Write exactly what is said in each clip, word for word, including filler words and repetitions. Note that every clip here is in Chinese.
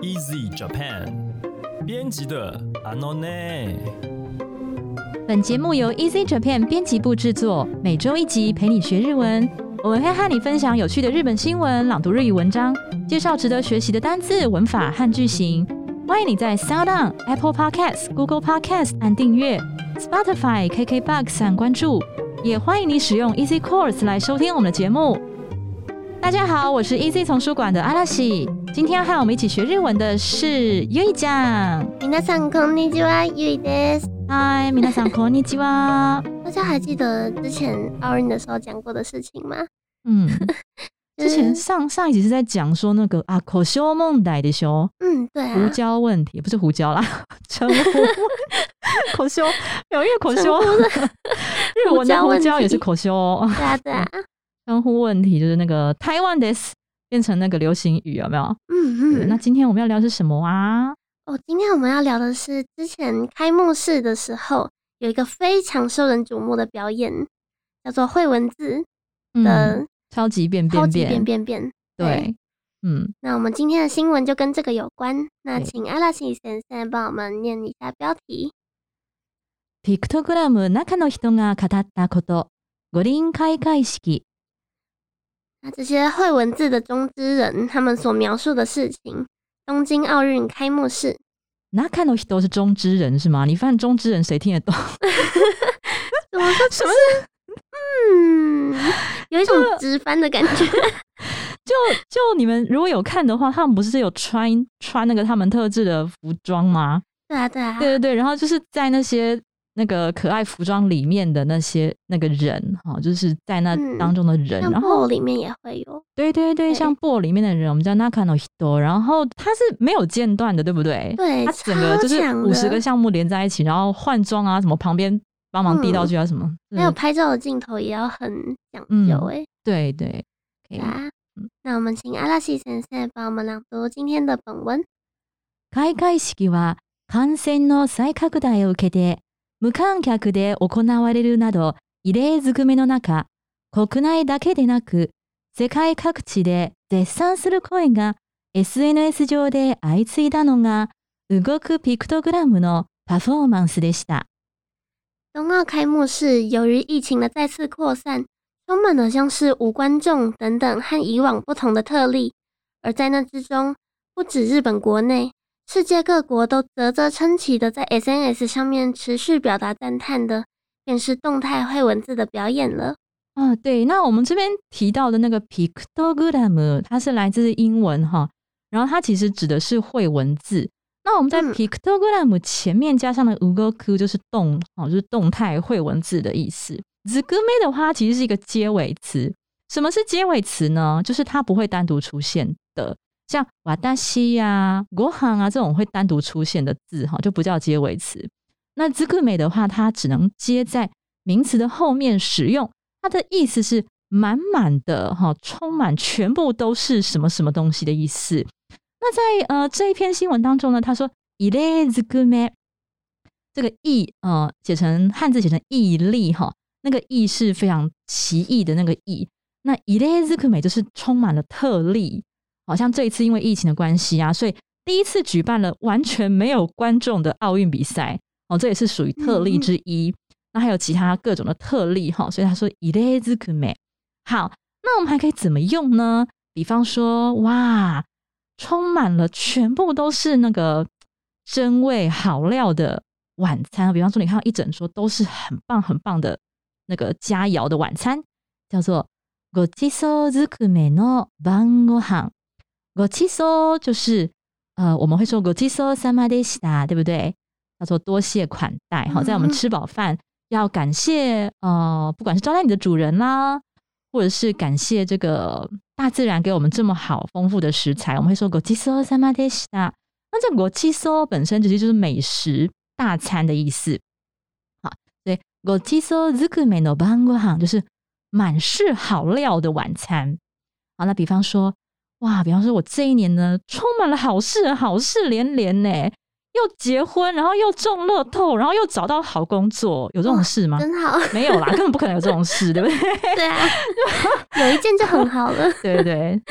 Easy Japan 编辑的 Anone。 本节目由 Easy Japan 编辑部制作，每周一集陪你学日文。我们会和你分享有趣的日本新闻、朗读日语文章，介绍值得学习的单字、文法和句型。欢迎你在 SoundOn、Apple Podcasts、Google Podcasts 按订阅， Spotify、K K B O X 按关注，也欢迎你使用 Easy Course 来收听我们的节目。大家好，我是 Easy 丛书馆的阿拉西。今天要和我们一起学日文的是ゆいちゃん。 皆さんこんにちは、ゆいです。 嗨，皆さんこんにちは。 大家还记得之前奥运的时候讲过的事情吗？ 嗯，之前上上一集是在讲说那个啊口修梦代的修， 嗯，对啊， 胡椒问题不是胡椒啦，称呼口修，有因为口修，日文的胡椒也是口修哦。 对啊，对啊。 称呼问题就是那个台湾 des 变成那个流行语，有没有？ 嗯嗯。 那今天我们要聊的是什么啊？ 哦，今天我们要聊的是之前开幕式的时候有一个非常受人瞩目的表演，叫做绘文字的、 嗯、超级变变变， 超级变变变。 对，嗯。 那我们今天的新闻就跟这个有关。那请阿拉西先生帮我们念一下标题。 ピクトグラム中の人が語ったこと、五輪開会式。 那这些绘文字的中之人，他们所描述的事情，东京奥运开幕式。 中の人是中之人是吗？你发现中之人谁听得懂？ 怎么说？什么？嗯，有一种直翻的感觉。 就就你们如果有看的话，他们不是有穿穿那个他们特制的服装吗？ 对啊，对啊， 对对对。然后就是在那些那个可爱服装里面的那些那个人哈，就是在那当中的人， 嗯、 然后里面也会有。 对对对，像布里面的人，我们叫中の人，然后他是没有间断的，对不对？ 对， 他整个就是五十个项目连在一起，然后换装啊，什么旁边帮忙递道具啊，什么， 嗯、还有拍照的镜头也要很讲究哎、欸嗯。 对对， 对啊。那我们请阿拉西先生帮我们朗读今天的本文。 開会式は感染の再拡大を受けて無観客で行われるなど異例ずくめの中、国内だけでなく世界各地で絶賛する声が エスエヌエス 上で相次いだのが動くピクトグラムのパフォーマンスでした。 冬奥开幕式由于疫情的再次扩散，充满了像是无观众等等和以往不同的特例，而在那之中，不止日本国内，世界各国都啧啧称奇的在 S N S 上面持续表达赞叹的，便是动态绘文字的表演了。 啊，对，那我们这边提到的那个 pictogram， 它是来自英文哈，然后它其实指的是绘文字。那我们在 pictogram 前面加上的 ugoku 就是动，就是动态绘文字的意思。zukume 的话其实是一个接尾词。什么是接尾词呢？就是它不会单独出现的，像watashi啊、ご飯啊这种会单独出现的字就不叫接尾词。那 zukume 的话，它只能接在名词的后面使用，它的意思是满满的，充满全部都是什么什么东西的意思。那在呃这一篇新闻当中呢，他说異例ずくめ，这个異呃写成汉字写成異例哈，那个異是非常奇异的那个異。那異例ずくめ就是充满了特例，好像这一次因为疫情的關係啊，所以第一次举办了完全没有观众的奥运比赛哦，这也是属于特例之一。嗯、那还有其他各種的特例哈，所以他说異例ずくめ。好，那我们还可以怎么用呢？比方说，哇，充满了全部都是那个真味好料的晚餐，比方说你看到一整桌都是很棒很棒的那个佳肴的晚餐，叫做ごちそうずくめの晩ご飯。ごちそう就是呃我们会说ごちそうさまでした，对不对？叫做多谢款待。好，在我们吃饱饭要感谢呃不管是招待你的主人啦，或者是感谢这个大自然给我们这么好丰富的食材，我们会说ごちそうさまでした。那这ごちそう本身其实就是美食大餐的意思。好，所以ごちそうずくめの晩ご飯就是满是好料的晚餐。好，那比方说，哇，比方说我这一年呢，充满了好事，好事连连呢，又结婚，然后又中乐透，然后又找到好工作，有这种事吗？ 真好， 没有啦，根本不可能有这种事，对不对？ 对啊，有一件就很好了。 对对对，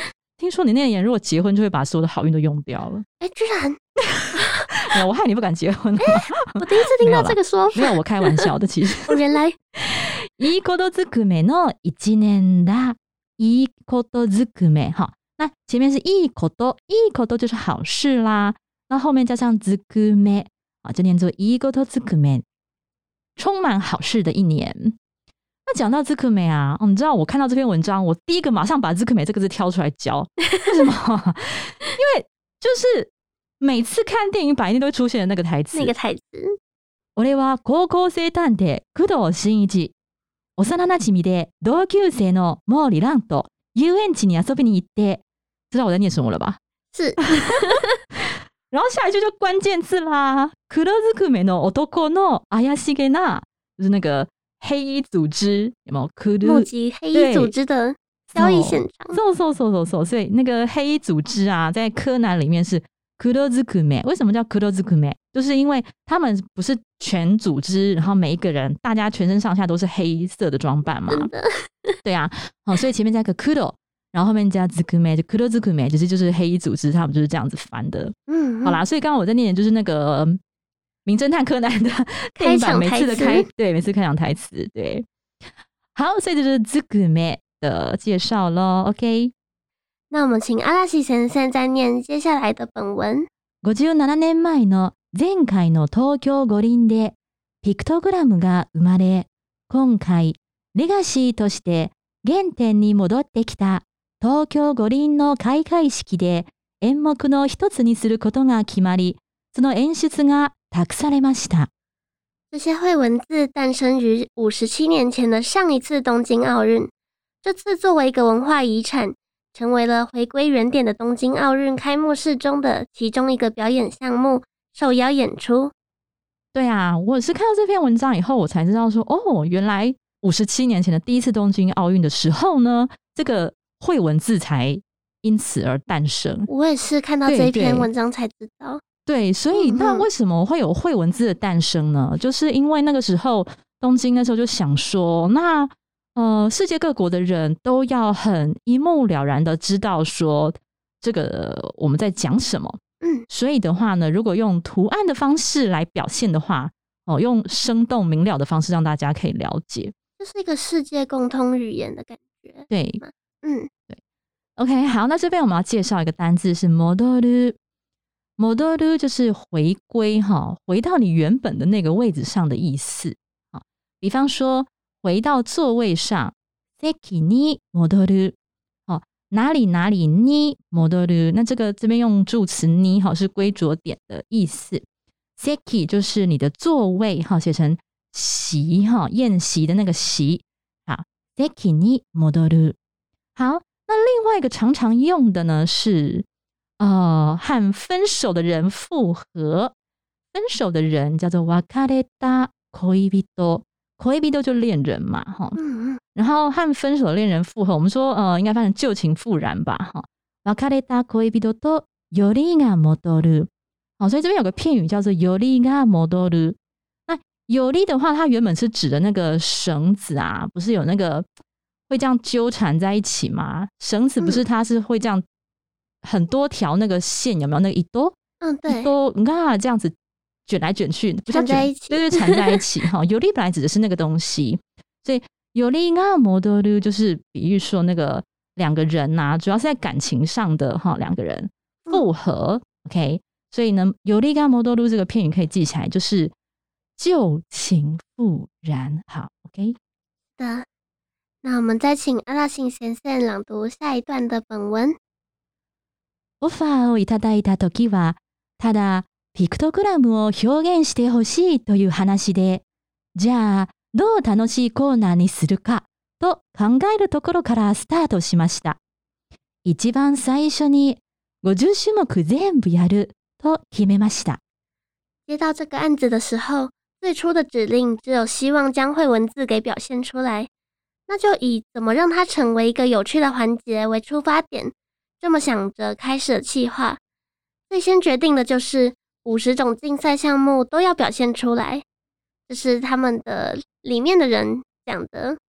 听说你那年如果结婚就会把所有的好运都用掉了。 哎，居然没有，我害你不敢结婚。 我第一次听到这个说法。 没有，我开玩笑的。其实哦，原来いいことずくめの一年だ。いいことずくめ，好，那前面是いいこと，いいこと就是好事啦，那后面加上ずくめ啊，就念作いいことずくめ，充满好事的一年。那讲到ずくめ啊，哦，你知道我看到这篇文章，我第一个马上把ずくめ这个字挑出来教，为什么？因为就是每次看電影版一定都会出现的那个台词， 那个台词。 俺は高校生探偵工藤新一。幼馴染で同級生の毛利蘭と遊園地に遊びに行って，知道我在念什么了吧？ 是。 然后下一句就关键字啦，黒ずくめの男の怪しげな，就是那个黑衣组织，有没有？ 目击黑衣组织的交易现场。 そうそうそうそうそう，所以那个黑衣组织啊，在柯南里面是黒ずくめ。为什么叫黒ずくめ？就是因为他们不是全组织，然后每一个人大家全身上下都是黑色的装扮嘛。对啊，好，所以前面加个黒，然后后面加ずくめ，就黒ずくめ，其实就是黑衣组织，他们就是这样子翻的。嗯，好啦，所以刚刚我在念的就是那个名侦探柯南的电影版每次的开，对，每次开场台词，对。好，所以这就是ずくめ的介绍咯 OK， 那我们请阿拉西先生再念接下来的本文。 五十七年前の前回の東京五輪でピクトグラムが生まれ、今回レガシーとして原点に戻ってきた東京五輪の開会式で演目の一つにすることが決まり、その演出が託されました。 这些绘文字诞生于五十七年前的上一次东京奥运，这次作为一个文化遗产，成为了回归原点的东京奥运开幕式中的其中一个表演项目，受邀演出。 对啊，我是看到这篇文章以后，我才知道说，哦，原来五十七年前的第一次东京奥运的时候呢，这个绘文字才因此而诞生。 我也是看到这篇文章才知道。 对，所以那为什么会有绘文字的诞生呢？嗯、就是因为那个时候东京那时候就想说，那呃，世界各国的人都要很一目了然的知道说这个我们在讲什么。嗯，所以的话呢，如果用图案的方式来表现的话，哦，用生动明了的方式让大家可以了解， 这是一个世界共通语言的感觉。 对，嗯，对。OK， 好，那这边我们要介绍一个单字是戻る。戻る就是回归哈，回到你原本的那个位置上的意思。好，比方说回到座位上，席に戻る。哪里哪里に戻る，那这个这边用助词に哈是归着点的意思。席就是你的座位哈，写成席哈，宴席的那个席。好，席に戻る。好，那另外一个常常用的呢是呃和分手的人复合。分手的人叫做別れた恋人。恋人就恋人嘛，哈，嗯，然后和分手的恋人复合，我们说呃，应该翻成旧情复燃吧，哈。別れた恋人とよりが戻る，好，所以这边有个片语叫做よりが戻る。那より的话，它原本是指的那个绳子啊，不是有那个会这样纠缠在一起吗？绳子不是它是会这样很多条那个线，有没有那个一多？ 嗯，对， 一多，你看它这样子。卷来卷去，不叫卷在一起， 对对，缠在一起哈。より本来指的是那个东西，所以よりが戻る就是比喻说那个两个人呐、啊，主要是在感情上的哈，两个人复合、嗯、，OK。所以呢，よりが戻る这个片语可以记起来，就是旧情复燃。好 ，OK。 的，那我们再请阿拉信先生朗读下一段的本文。 オファーをいただいたときは、ただピクトグラムを表現してほしいという話で、じゃあどう楽しいコーナーにするかと考えるところからスタートしました。一番最初にごじゅっ種目全部やると決めました。 接到这个案子的时候，最初的指令只有希望将绘文字给表现出来，那就以怎么让它成为一个有趣的环节为出发点，这么想着开始了企划。最先决定的就是五十种竞赛项目都要表现出来，这是他们的里面的人讲的。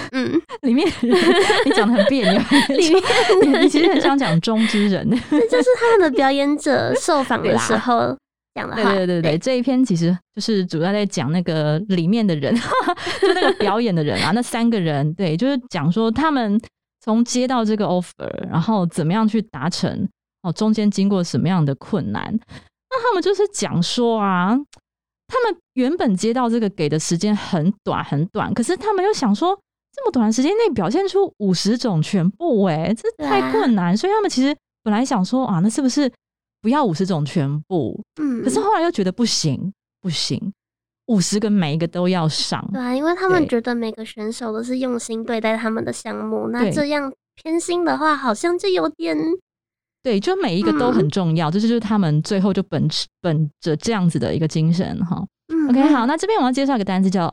嗯， 里面的人你讲的很别扭， 里面你你其实很想讲中之人， 这就是他们的表演者受访的时候讲的话。 对对对 对, 对，这一篇其实就是主要在讲那个里面的人，就那个表演的人啊，那三个人，对，就是讲说他们从接到这个 offer， 然后怎么样去达成，哦，中间经过什么样的困难。那他们就是讲说啊，他们原本接到这个给的时间很短很短，可是他们又想说，这么短的时间内表现出五十种全部，哎，这太困难，所以他们其实本来想说啊，那是不是不要五十种全部？嗯，可是后来又觉得不行，不行，五十个每一个都要上。 对啊，因为他们觉得每个选手都是用心对待他们的项目，那这样偏心的话，好像就有点。 对，就每一个都很重要，这、嗯、就是他们最后就本本着这样子的一个精神哈。嗯、OK， 好，那这边我要介绍一个单词叫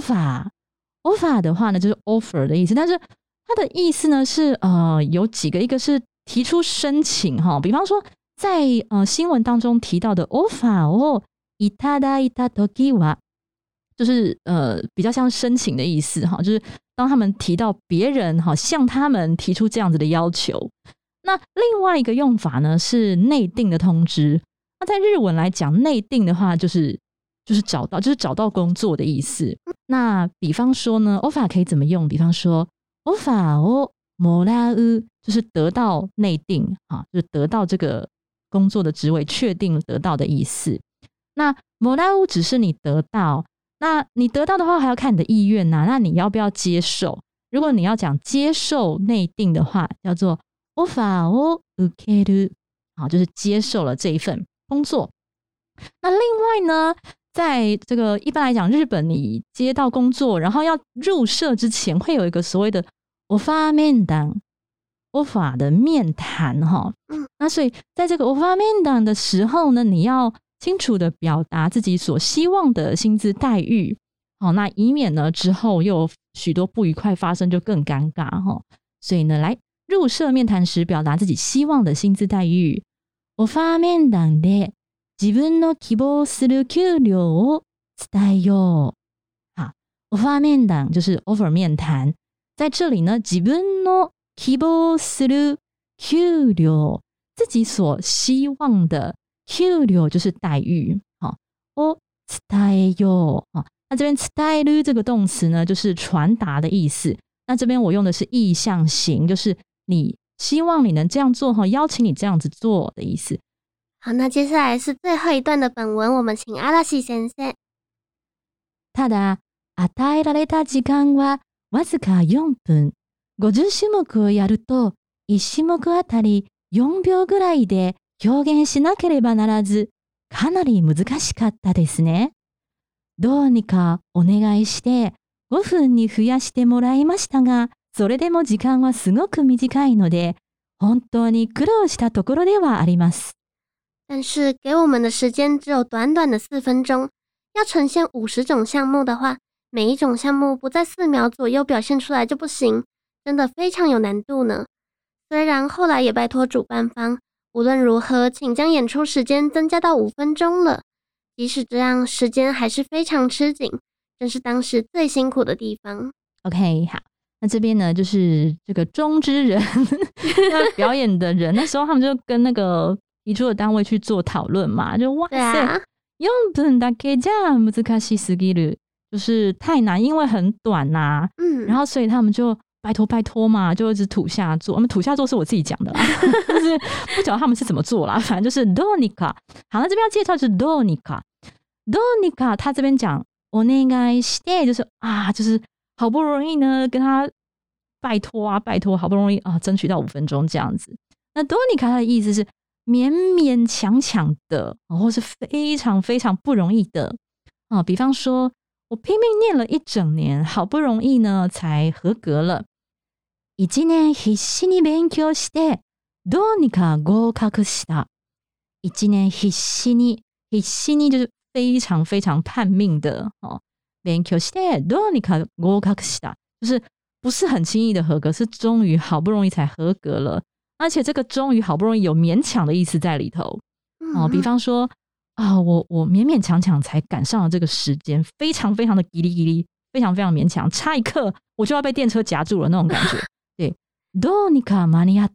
offer。offer 的话呢，就是 offer 的意思，但是它的意思呢是呃有几个，一个是提出申请哈，比方说在呃新闻当中提到的 offer 哦，いただいた時は，就是呃比较像申请的意思哈，就是当他们提到别人哈向他们提出这样子的要求。那另外一个用法呢是内定的通知。那在日文来讲，内定的话就是就是找到就是找到工作的意思。那比方说呢 offer 可以怎么用？比方说 offer をもらう就是得到内定啊，就是得到这个工作的职位，确定得到的意思。那もらう只是你得到，那你得到的话还要看你的意愿呐、啊，那你要不要接受？如果你要讲接受内定的话，叫做オファーを受ける，好，就是接受了这一份工作。那另外呢，在这个一般来讲，日本你接到工作，然后要入社之前，会有一个所谓的オファー面談，オファー的面談哈。那所以在这个オファー面談的时候呢，你要清楚的表达自己所希望的薪资待遇，好，那以免呢之后又有许多不愉快发生，就更尴尬哈。所以呢，来。入社面談時表達自己希望的薪資待遇。オファー面談で自分の希望する給料を伝えよう。好，オファー面談就是 offer 面談。在这里呢，自分の希望する給料，自己所希望的給料就是待遇。好，を伝えよう。那这边伝える这个动词呢，就是传达的意思。那这边我用的是意向型，就是你希望你能这样做，邀請你这样子做的意思。 好，那接下来是最后一段的本文，我们请阿拉西先生。 ただ、与えられた時間はわずかよんぷん。ごじゅっ種目をやると、いち種目あたりよんびょうぐらいで表現しなければならず、かなり難しかったですね。どうにかお願いして、ごふんに増やしてもらいましたが、それでも時間はすごく短いので、本当に苦労したところではあります。 但是给我们的时间只有短短的四分钟，要呈现五十种项目的话，每一种项目不在四秒左右表现出来就不行，真的非常有难度呢。虽然后来也拜托主办方，无论如何请将演出时间增加到五分钟了，即使这样，时间还是非常吃紧。真是当时最辛苦的地方。 OK， 好，那这边呢就是这个中之人要表演的人那时候他们就跟那个提出的单位去做讨论嘛，就哇塞よんぷんだけじゃ難しすぎる，就是太难，因为很短呐、啊嗯、然后所以他们就拜托拜托嘛，就一直土下座。我们土下座是我自己讲的啦就是不晓得他们是怎么做啦，反正就是どうにか。好，那这边要介绍就是どうにか。どうにか他这边讲お願いして就是啊，就是好不容易呢跟他拜托啊拜托，好不容易啊争取到五分钟这样子。那どうにか他的意思是勉勉强强的，或是非常非常不容易的啊。比方说我拼命念了一整年，好不容易呢才合格了。一年必死に勉強してどうにか合格した。一年必死に必死に就是非常非常叛命的哦，勉強してどうにか合格した，就是不是很轻易的合格，是终于好不容易才合格了，而且这个终于好不容易有勉强的意思在里头哦。比方说啊，我我勉勉强强才赶上了这个时间，非常非常的叽哩叽哩， 非常非常勉强，差一刻我就要被电车夹住了那种感觉。对，どうにか間に合った。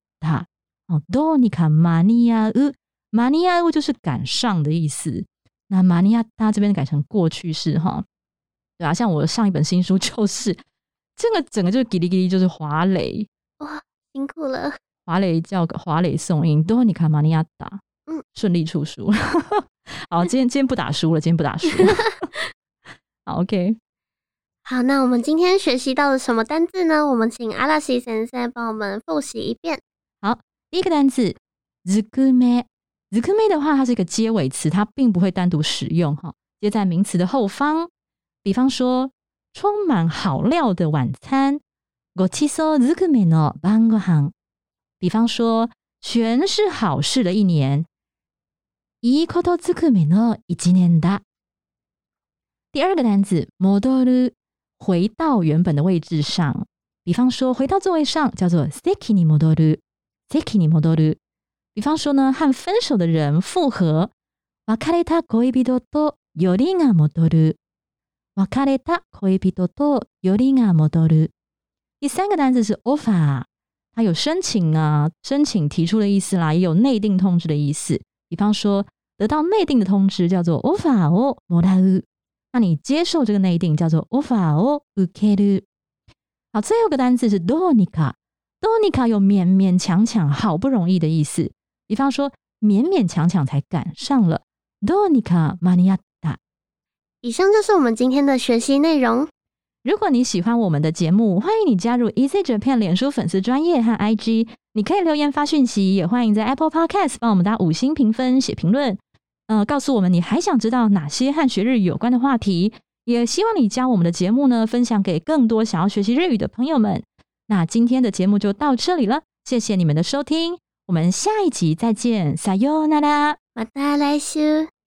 哦，どうにか間に合う。間に合う就是赶上的意思。那間に合った这边改成过去式哈。对啊，像我上一本新书就是这个整个就是叽哩叽哩就是滑垒。 哇，辛苦了。 滑垒叫滑垒送音，どうにか間に合った。嗯，顺利出书。好，今天今天不打书了，今天不打书。好 ，OK。 好，那我们今天学习到了什么单字呢？我们请阿拉西先生帮我们复习一遍。 好，第一个单字ずくめ。ずくめ的话，它是一个接尾词，它并不会单独使用哈，接在名词的后方。比方说，充满好料的晚餐，ごちそうずくめの晩ご飯。比方说，全是好事的一年。いいことずくめの一年だ。第二个单字戻る，回到原本的位置上。比方说，回到座位上叫做席に戻る。席に戻る。比方说呢，和分手的人复合。別れた恋人とよりが戻る。別れた恋人とよりが戻る。第三个单字是 offer， 它有申请啊，申請提出的意思啦，也有内定通知的意思。比方说，得到内定的通知叫做 offer をもらう。那你接受这个内定叫做 offer を受ける。好，最后一个单字是どうにか。どうにか有勉勉强强、好不容易的意思。比方说，勉勉强强才赶上了。どうにか間に合った。 以上就是我们今天的学习内容。 如果你喜欢我们的节目，欢迎你加入 Easy Japan 脸书粉丝专页和 I G， 你可以留言发讯息，也欢迎在 Apple Podcast 帮我们打五星评分、写评论，呃，告诉我们你还想知道哪些和学日语有关的话题。也希望你将我们的节目呢分享给更多想要学习日语的朋友们。那今天的节目就到这里了，谢谢你们的收听，我们下一集再见，さようなら。 また来週。